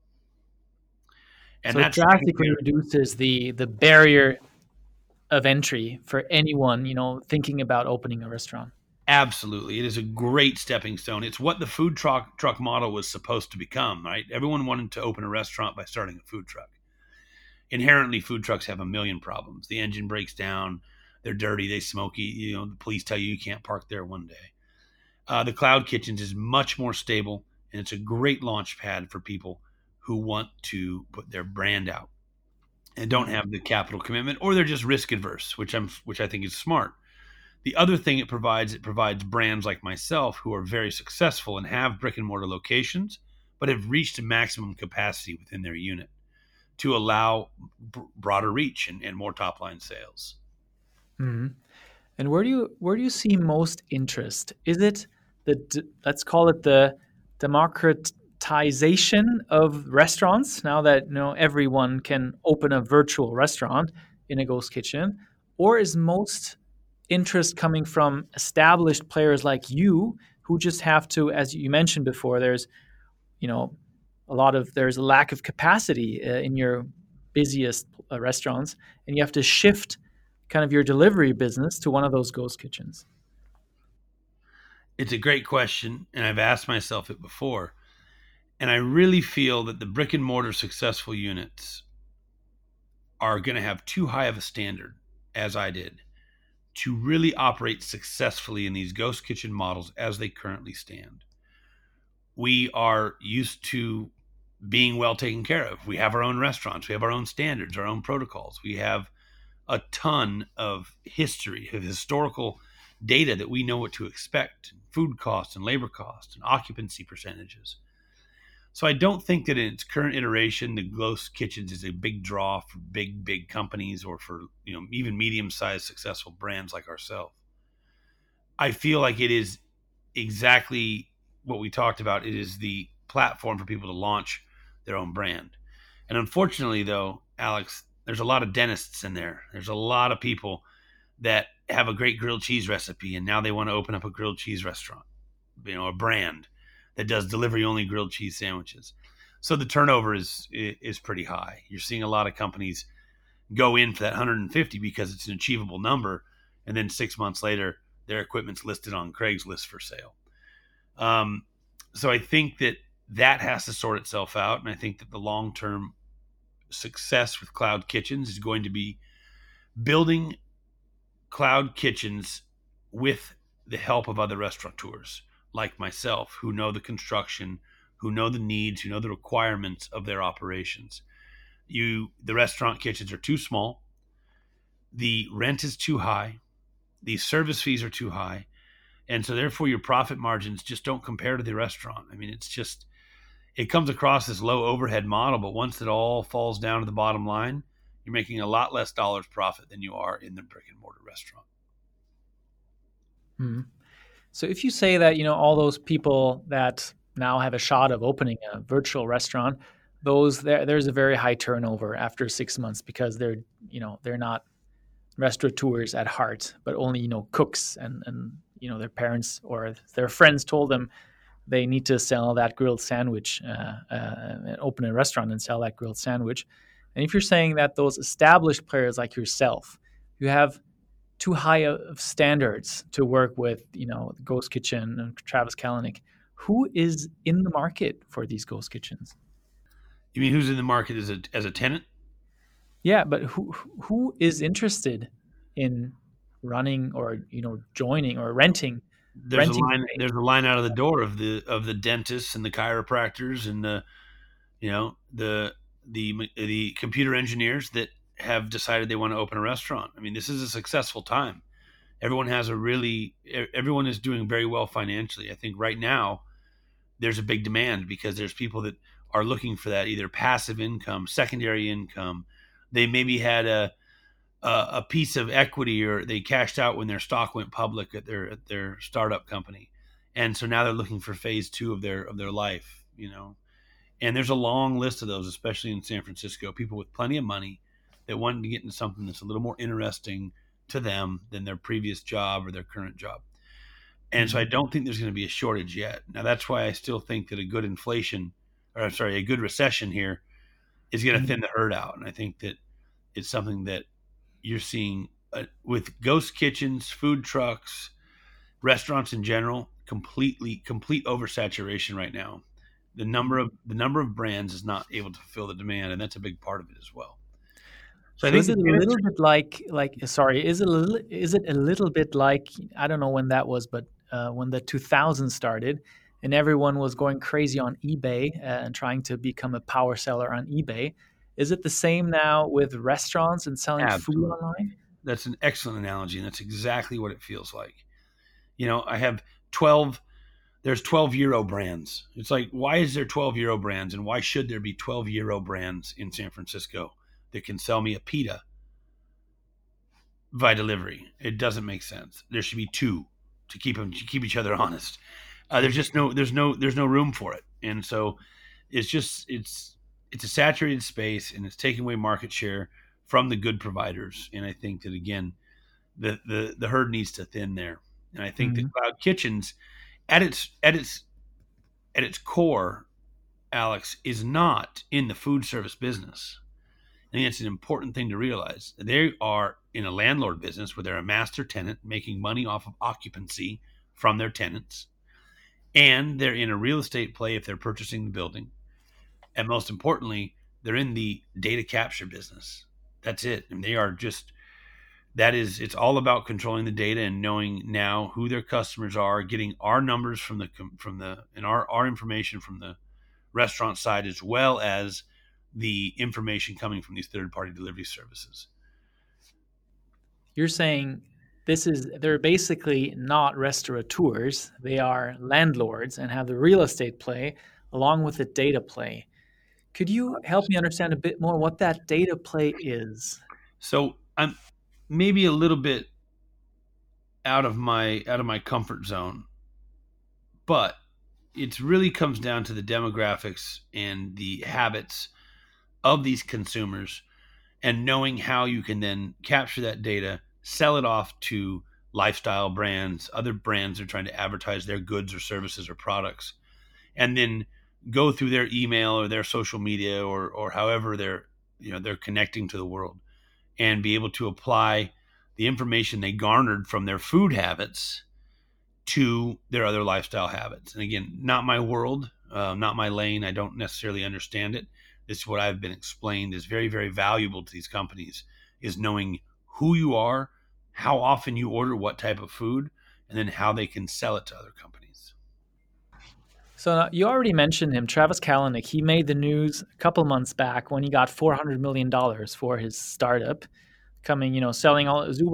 And so that drastically reduces the barrier of entry for anyone, thinking about opening a restaurant. Absolutely. It is a great stepping stone. It's what the food truck model was supposed to become, right? Everyone wanted to open a restaurant by starting a food truck. Inherently, food trucks have a million problems. The engine breaks down. They're dirty. They smoky. The police tell you can't park there one day. The Cloud Kitchens is much more stable, and it's a great launch pad for people who want to put their brand out and don't have the capital commitment, or they're just risk adverse, which I think is smart. The other thing it provides brands like myself who are very successful and have brick and mortar locations, but have reached a maximum capacity within their unit to allow broader reach and more top line sales. Mm-hmm. And where do you see most interest? Is it let's call it the democratization of restaurants now that everyone can open a virtual restaurant in a ghost kitchen, or is most interest coming from established players like you who just have to, as you mentioned before, there's there's a lack of capacity in your busiest restaurants, and you have to shift kind of your delivery business to one of those ghost kitchens? It's a great question, and I've asked myself it before. And I really feel that the brick and mortar successful units are going to have too high of a standard, as I did, to really operate successfully in these ghost kitchen models as they currently stand. We are used to being well taken care of. We have our own restaurants, we have our own standards, our own protocols. We have a ton of history, of historical data that we know what to expect, food costs and labor costs and occupancy percentages. So I don't think that in its current iteration, the ghost kitchens is a big draw for big companies or for even medium-sized successful brands like ourselves. I feel like it is exactly what we talked about. It is the platform for people to launch their own brand. And unfortunately, though, Alex, there's a lot of dentists in there. There's a lot of people that have a great grilled cheese recipe, and now they want to open up a grilled cheese restaurant, a brand that does delivery only grilled cheese sandwiches. So the turnover is pretty high. You're seeing a lot of companies go in for that 150 because it's an achievable number, and then 6 months later, their equipment's listed on Craigslist for sale. So I think that has to sort itself out, and I think that the long-term success with cloud kitchens is going to be building cloud kitchens with the help of other restaurateurs like myself who know the construction, who know the needs, who know the requirements of their operations. The restaurant kitchens are too small. The rent is too high. The service fees are too high. And so therefore your profit margins just don't compare to the restaurant. I mean, it comes across this low overhead model, but once it all falls down to the bottom line, you're making a lot less dollars profit than you are in the brick and mortar restaurant. Mm-hmm. So if you say that, all those people that now have a shot of opening a virtual restaurant, there's a very high turnover after 6 months because they're not restaurateurs at heart, but only, cooks and their parents or their friends told them they need to sell that grilled sandwich and open a restaurant and sell that grilled sandwich. And if you're saying that those established players like yourself, you have too high of standards to work with, Ghost Kitchen and Travis Kalanick, who is in the market for these ghost kitchens? You mean who's in the market as a tenant? Yeah, but who is interested in running or joining or renting? There's a line out of the door of the dentists and the chiropractors and the computer engineers that have decided they want to open a restaurant. I mean, this is a successful time. Everyone is doing very well financially. I think right now there's a big demand because there's people that are looking for that either passive income, secondary income. They maybe had a piece of equity or they cashed out when their stock went public at their startup company. And so now they're looking for phase 2 of their life, And there's a long list of those, especially in San Francisco, people with plenty of money that wanted to get into something that's a little more interesting to them than their previous job or their current job. And so I don't think there's going to be a shortage yet. Now, that's why I still think that a good recession here is going to thin the herd out. And I think that it's something that you're seeing with ghost kitchens, food trucks, restaurants in general, complete oversaturation right now. The number of brands is not able to fulfill the demand, and that's a big part of it as well. So is it a little bit is it a little bit like, I don't know when that was, but when the 2000s started and everyone was going crazy on eBay and trying to become a power seller on eBay. Is it the same now with restaurants and selling food online? That's an excellent analogy, and that's exactly what it feels like. I have there's 12 Euro brands. It's like, why is there 12 Euro brands, and why should there be 12 Euro brands in San Francisco that can sell me a pita by delivery? It doesn't make sense. There should be 2 to keep each other honest. There's no room for it, and so it's a saturated space, and it's taking away market share from the good providers. And I think that again, the herd needs to thin there. And I think that cloud kitchens, at its core, Alex, is not in the food service business. I think it's an important thing to realize. They are in a landlord business where they're a master tenant making money off of occupancy from their tenants. And they're in a real estate play if they're purchasing the building. And most importantly, they're in the data capture business. That's it. And they are just it's all about controlling the data and knowing now who their customers are, getting our numbers and our information from the restaurant side, as well as the information coming from these third-party delivery services. You're saying they're basically not restaurateurs. They are landlords and have the real estate play along with the data play. Could you help me understand a bit more what that data play is? So I'm maybe a little bit out of my comfort zone, but it really comes down to the demographics and the habits of these consumers, and knowing how you can then capture that data, sell it off to lifestyle brands, other brands are trying to advertise their goods or services or products, and then go through their email or their social media or however they're connecting to the world, and be able to apply the information they garnered from their food habits to their other lifestyle habits. And again, not my world, not my lane. I don't necessarily understand it. This is what I've been explained is very, very valuable to these companies, is knowing who you are, how often you order what type of food, and then how they can sell it to other companies. So you already mentioned him, Travis Kalanick. He made the news a couple months back when he got $400 million for his startup, selling all his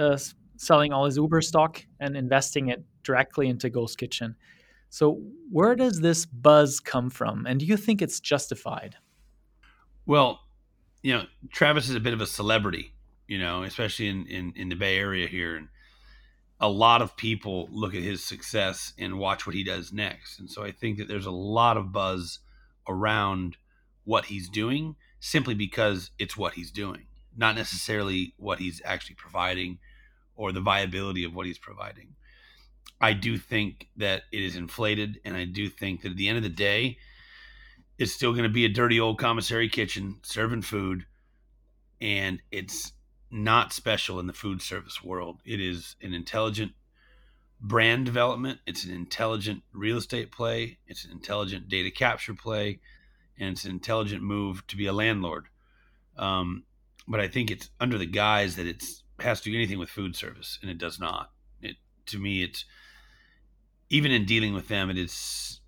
Uber stock and investing it directly into Ghost Kitchen. So where does this buzz come from? And do you think it's justified? Well, Travis is a bit of a celebrity, especially in the Bay Area here. And a lot of people look at his success and watch what he does next. And so I think that there's a lot of buzz around what he's doing simply because it's what he's doing, not necessarily what he's actually providing or the viability of what he's providing. I do think that it is inflated, and I do think that at the end of the day, it's still going to be a dirty old commissary kitchen serving food, and it's not special in the food service world. It is an intelligent brand development. It's an intelligent real estate play. It's an intelligent data capture play, and it's an intelligent move to be a landlord. But I think it's under the guise that it has to do anything with food service, and it does not. To me, it's even in dealing with them, it's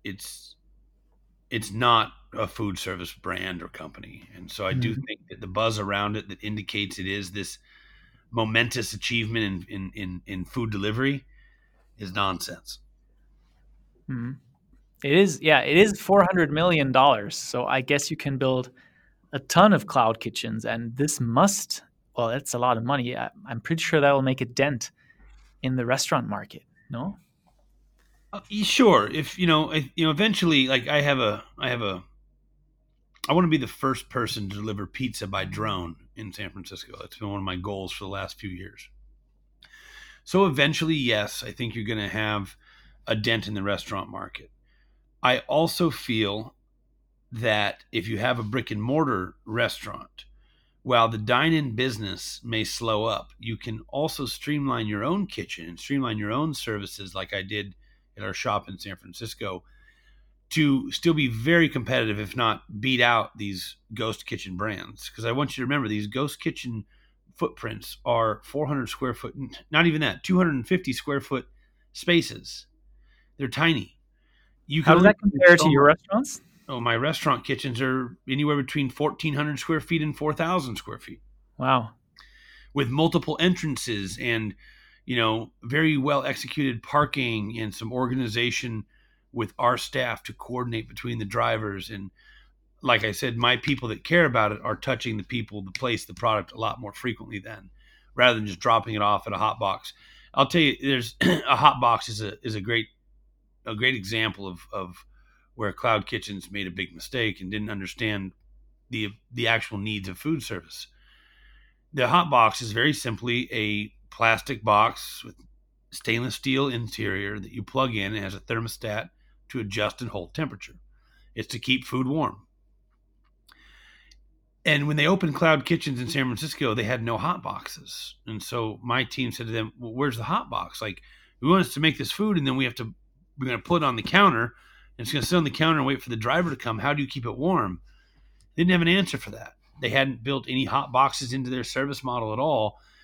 not a food service brand or company. And so I do think that the buzz around it that indicates it is this momentous achievement in food delivery is nonsense. Mm-hmm. It is $400 million. So I guess you can build a ton of cloud kitchens, and that's a lot of money. I'm pretty sure that will make a dent in the restaurant market. No? Sure. If eventually, like I want to be the first person to deliver pizza by drone in San Francisco. That's been one of my goals for the last few years. So eventually, yes, I think you're going to have a dent in the restaurant market. I also feel that if you have a brick and mortar restaurant, while the dine-in business may slow up, you can also streamline your own kitchen and streamline your own services like I did at our shop in San Francisco to still be very competitive, if not beat out these ghost kitchen brands. Because I want you to remember, these ghost kitchen footprints are 400 square foot, not even that, 250 square foot spaces. They're tiny. How does that compare to your restaurants? Oh, my restaurant kitchens are anywhere between 1,400 square feet and 4,000 square feet. Wow. With multiple entrances and, very well executed parking and some organization with our staff to coordinate between the drivers. And like I said, my people that care about it are touching the people, the place, the product a lot more frequently then, rather than just dropping it off at a hot box. I'll tell you, there's a hot box is a great example of where Cloud Kitchens made a big mistake and didn't understand the actual needs of food service. The hot box is very simply a plastic box with stainless steel interior that you plug in. It has a thermostat to adjust and hold temperature. It's to keep food warm. And when they opened Cloud Kitchens in San Francisco, they had no hot boxes. And so my team said to them, well, where's the hot box? Like, we want us to make this food, and then we're going to put it on the counter, and it's going to sit on the counter and wait for the driver to come. How do you keep it warm? They didn't have an answer for that. They hadn't built any hot boxes into their service model at all.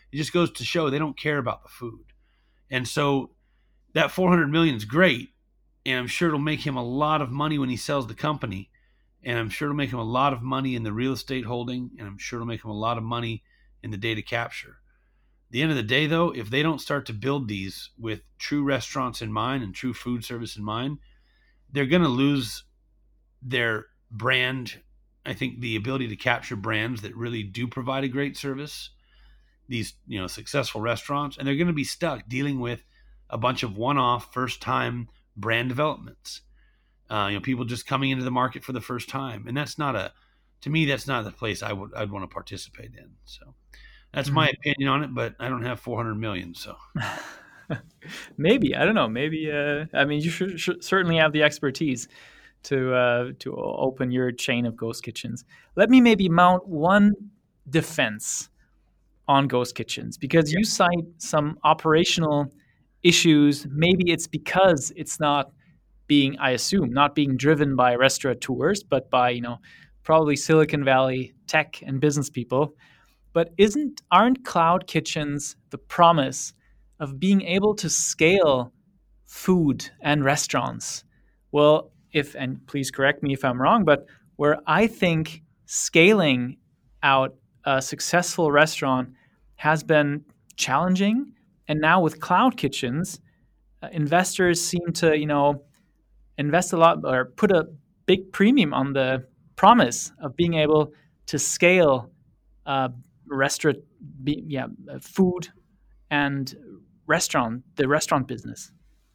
It just goes to show they don't care about the food. And so that 400 million is great, and I'm sure it'll make him a lot of money when he sells the company, and I'm sure it'll make him a lot of money in the real estate holding, and I'm sure it'll make him a lot of money in the data capture. At the end of the day, though, if they don't start to build these with true restaurants in mind and true food service in mind, they're going to lose their brand. I think the ability to capture brands that really do provide a great service, these successful restaurants, and they're going to be stuck dealing with a bunch of one-off, first-time brand developments. People just coming into the market for the first time, and that's not the place I'd want to participate in. So that's my opinion on it, but I don't have 400 million. So maybe, I don't know. Maybe I mean, you should certainly have the expertise to open your chain of ghost kitchens. Let me maybe mount one defense on ghost kitchens, because you cite some operational issues. Maybe it's because it's not being, I assume, not being driven by restaurateurs, but by, probably Silicon Valley tech and business people. But aren't cloud kitchens the promise of being able to scale food and restaurants? Well, and please correct me if I'm wrong, but where I think scaling out a successful restaurant has been challenging, and now with cloud kitchens, investors seem to, invest a lot or put a big premium on the promise of being able to scale food and the restaurant business.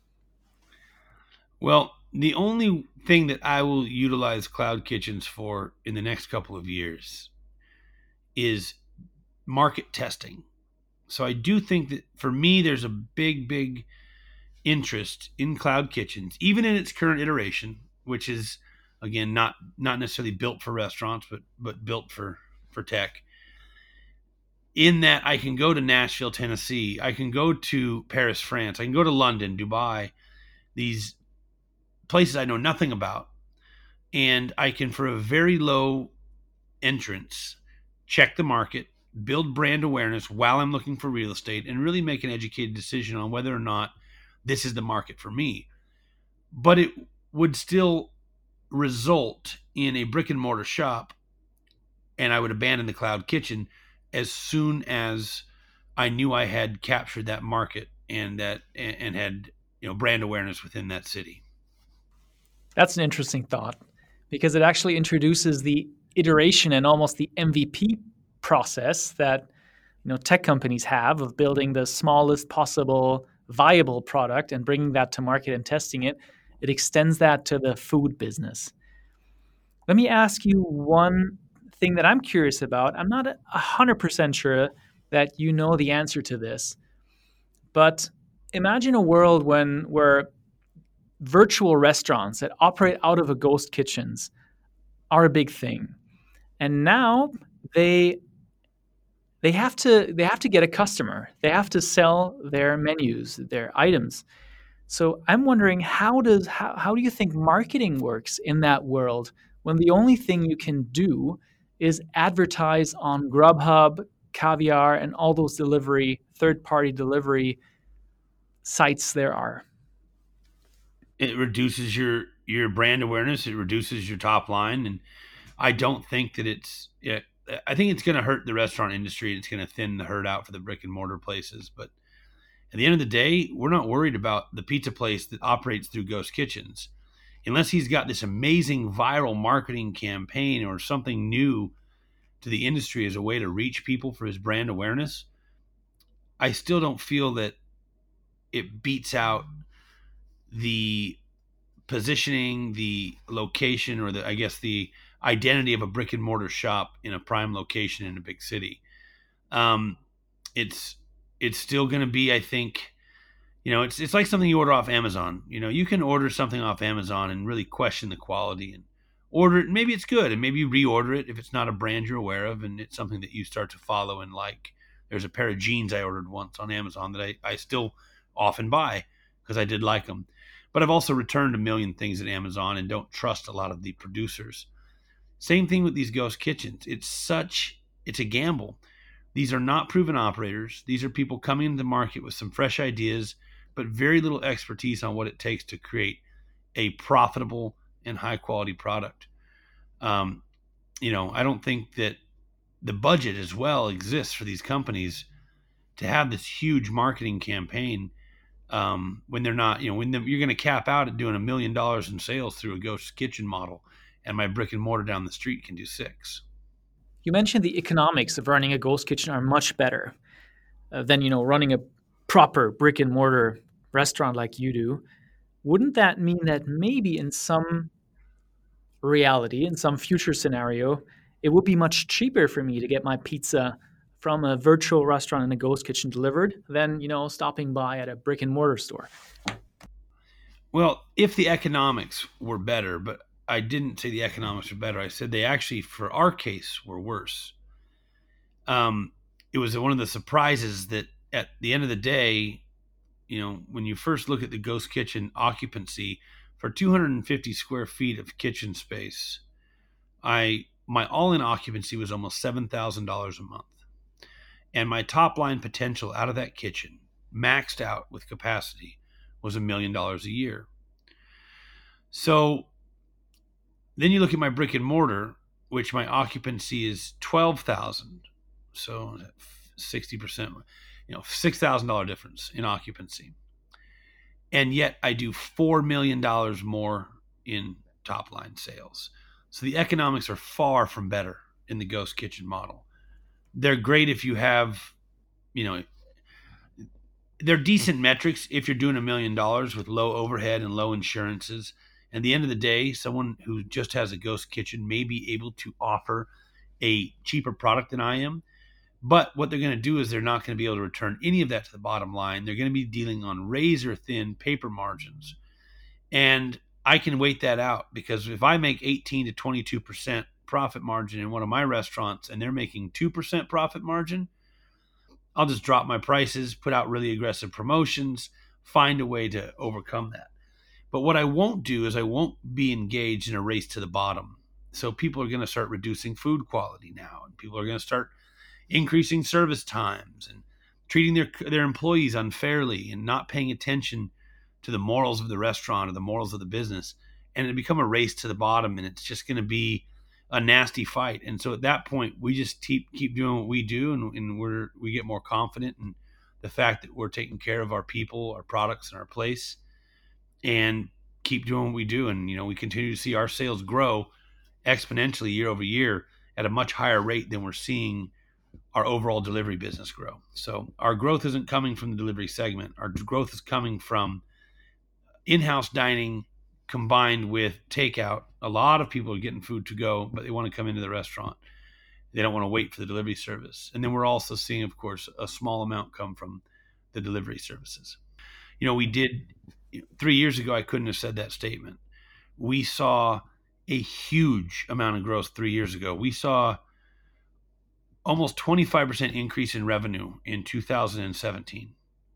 Well, the only thing that I will utilize cloud kitchens for in the next couple of years is market testing. So I do think that for me, there's a big interest in cloud kitchens, even in its current iteration, which is, again, not necessarily built for restaurants, but built for tech. In that I can go to Nashville, Tennessee, I can go to Paris, France, I can go to London, Dubai, these places I know nothing about, and I can, for a very low entrance, check the market, build brand awareness while I'm looking for real estate, and really make an educated decision on whether or not this is the market for me. But it would still result in a brick and mortar shop, and I would abandon the cloud kitchen as soon as I knew I had captured that market and had brand awareness within that city. That's an interesting thought, because it actually introduces the iteration and almost the MVP process that tech companies have of building the smallest possible viable product and bringing that to market and testing it. It extends that to the food business. Let me ask you one thing that I'm curious about. I'm not 100% sure that you know the answer to this, but imagine a world where virtual restaurants that operate out of a ghost kitchens are a big thing, and now they have to get a customer. They have to sell their menus, their items. So I'm wondering, how do you think marketing works in that world when the only thing you can do is advertise on Grubhub, Caviar, and all those third-party delivery sites there are? It reduces your brand awareness. It reduces your top line, and I don't think that I think it's going to hurt the restaurant industry. It's going to thin the herd out for the brick and mortar places. But at the end of the day, we're not worried about the pizza place that operates through ghost kitchens, unless he's got this amazing viral marketing campaign or something new to the industry as a way to reach people for his brand awareness. I still don't feel that it beats out the positioning, the location, or the identity of a brick and mortar shop in a prime location in a big city. It's still going to be, I think, it's like something you order off Amazon. You can order something off Amazon and really question the quality and order it. Maybe it's good, and maybe you reorder it if it's not a brand you're aware of and it's something that you start to follow and like. There's a pair of jeans I ordered once on Amazon that I still often buy because I did like them. But I've also returned a million things at Amazon and don't trust a lot of the producers. Same thing with these ghost kitchens. It's a gamble. These are not proven operators. These are people coming into the market with some fresh ideas, but very little expertise on what it takes to create a profitable and high quality product. I don't think that the budget as well exists for these companies to have this huge marketing campaign when they're not, you're going to cap out at doing $1 million in sales through a ghost kitchen model, and my brick and mortar down the street can do 6. You mentioned the economics of running a ghost kitchen are much better than running a proper brick and mortar restaurant like you do. Wouldn't that mean that maybe in some reality, in some future scenario, it would be much cheaper for me to get my pizza from a virtual restaurant in a ghost kitchen delivered than stopping by at a brick and mortar store? Well, if the economics were better, but I didn't say the economics were better. I said they actually, for our case, were worse. It was one of the surprises that at the end of the day, when you first look at the ghost kitchen occupancy for 250 square feet of kitchen space, my all-in occupancy was almost $7,000 a month. And my top line potential out of that kitchen, maxed out with capacity, was $1 million a year. So then you look at my brick and mortar, which my occupancy is 12,000. So 60%, $6,000 difference in occupancy. And yet I do $4 million more in top line sales. So the economics are far from better in the ghost kitchen model. They're great if you have, they're decent metrics if you're doing $1 million with low overhead and low insurances. At the end of the day, someone who just has a ghost kitchen may be able to offer a cheaper product than I am. But what they're going to do is they're not going to be able to return any of that to the bottom line. They're going to be dealing on razor thin paper margins. And I can wait that out, because if I make 18 to 22% profit margin in one of my restaurants and they're making 2% profit margin, I'll just drop my prices, put out really aggressive promotions, find a way to overcome that. But what I won't do is I won't be engaged in a race to the bottom. So people are going to start reducing food quality now, and people are going to start increasing service times and treating their employees unfairly and not paying attention to the morals of the restaurant or the morals of the business. And it become a race to the bottom, and it's just going to be a nasty fight. And so at that point, we just keep doing what we do, and we get more confident in the fact that we're taking care of our people, our products, and our place, and keep doing what we do. And, we continue to see our sales grow exponentially year over year at a much higher rate than we're seeing our overall delivery business grow. So our growth isn't coming from the delivery segment. Our growth is coming from in-house dining combined with takeout. A lot of people are getting food to go, but they want to come into the restaurant. They don't want to wait for the delivery service. And then we're also seeing, of course, a small amount come from the delivery services. We did 3 years ago, I couldn't have said that statement. We saw a huge amount of growth 3 years ago. We saw almost 25% increase in revenue in 2017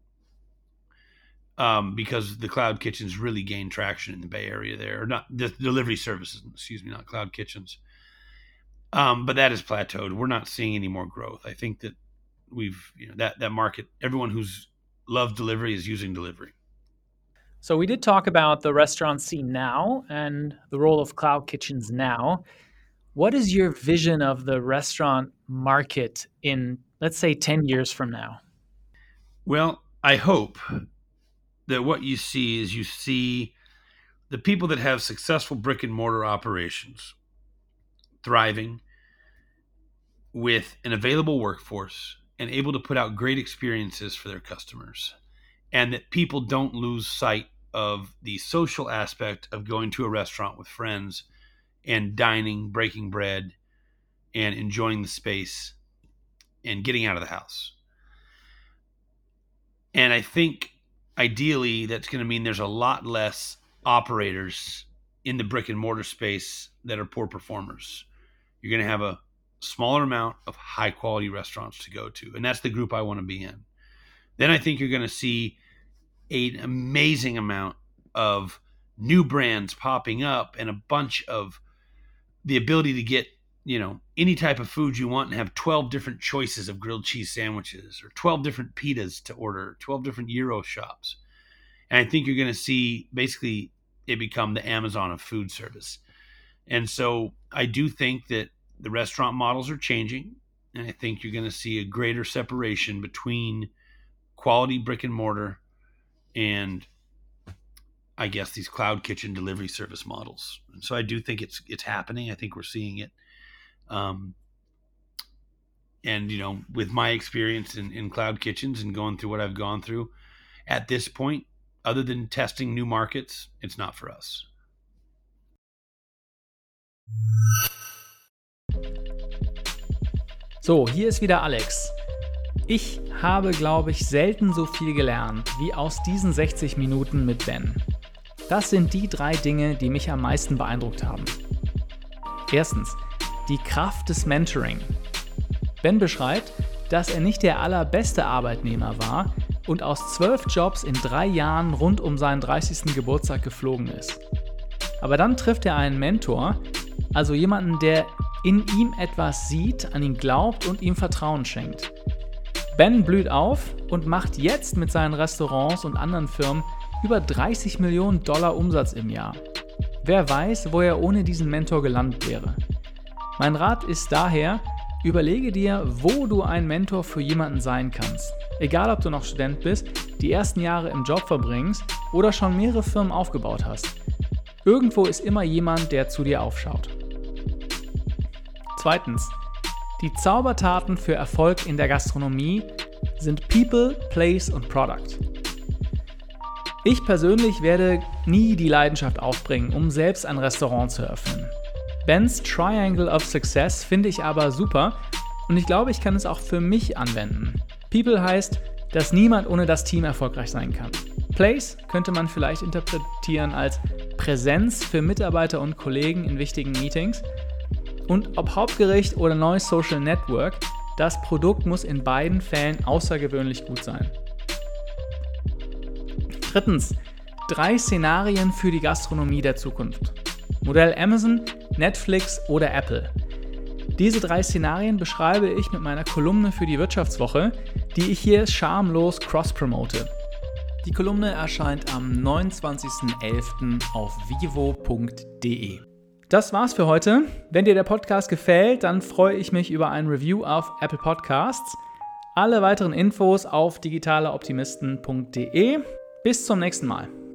because the cloud kitchens really gained traction in the Bay Area there. Or not the delivery services, not cloud kitchens. But that has plateaued. We're not seeing any more growth. I think that we've, that market, everyone who's loved delivery is using delivery. So we did talk about the restaurant scene now and the role of cloud kitchens now. What is your vision of the restaurant market in, let's say, 10 years from now? Well, I hope that what you see the people that have successful brick and mortar operations thriving with an available workforce and able to put out great experiences for their customers, and that people don't lose sight of the social aspect of going to a restaurant with friends and dining, breaking bread, and enjoying the space and getting out of the house. And I think ideally that's going to mean there's a lot less operators in the brick and mortar space that are poor performers. You're going to have a smaller amount of high quality restaurants to go to. And that's the group I want to be in. Then I think you're going to see an amazing amount of new brands popping up and a bunch of the ability to get any type of food you want and have 12 different choices of grilled cheese sandwiches or 12 different pitas to order, 12 different gyro shops. And I think you're going to see basically it become the Amazon of food service. And so I do think that the restaurant models are changing. And I think you're going to see a greater separation between quality brick and mortar and, I guess, these cloud kitchen delivery service models. And so I do think it's happening. I think we're seeing it. And, with my experience in cloud kitchens and going through what I've gone through at this point, other than testing new markets, it's not for us. So, hier ist wieder Alex. Ich habe, glaube ich, selten so viel gelernt wie aus diesen 60 Minuten mit Ben. Das sind die 3 Dinge, die mich am meisten beeindruckt haben. Erstens, die Kraft des Mentoring. Ben beschreibt, dass er nicht der allerbeste Arbeitnehmer war und aus 12 Jobs in 3 Jahren rund um seinen 30. Geburtstag geflogen ist. Aber dann trifft er einen Mentor, also jemanden, der in ihm etwas sieht, an ihn glaubt und ihm Vertrauen schenkt. Ben blüht auf und macht jetzt mit seinen Restaurants und anderen Firmen über $30 Millionen Umsatz im Jahr. Wer weiß, wo er ohne diesen Mentor gelandet wäre. Mein Rat ist daher, überlege dir, wo du ein Mentor für jemanden sein kannst. Egal, ob du noch Student bist, die ersten Jahre im Job verbringst oder schon mehrere Firmen aufgebaut hast. Irgendwo ist immer jemand, der zu dir aufschaut. Zweitens, die Zaubertaten für Erfolg in der Gastronomie sind People, Place und Product. Ich persönlich werde nie die Leidenschaft aufbringen, um selbst ein Restaurant zu eröffnen. Bens Triangle of Success finde ich aber super und ich glaube, ich kann es auch für mich anwenden. People heißt, dass niemand ohne das Team erfolgreich sein kann. Place könnte man vielleicht interpretieren als Präsenz für Mitarbeiter und Kollegen in wichtigen Meetings. Und ob Hauptgericht oder neues Social Network, das Produkt muss in beiden Fällen außergewöhnlich gut sein. Drittens, 3 Szenarien für die Gastronomie der Zukunft. Modell Amazon, Netflix oder Apple. Diese 3 Szenarien beschreibe ich mit meiner Kolumne für die Wirtschaftswoche, die ich hier schamlos cross-promote. Die Kolumne erscheint am 29.11. auf vivo.de. Das war's für heute. Wenn dir der Podcast gefällt, dann freue ich mich über ein Review auf Apple Podcasts. Alle weiteren Infos auf digitaleoptimisten.de. Bis zum nächsten Mal.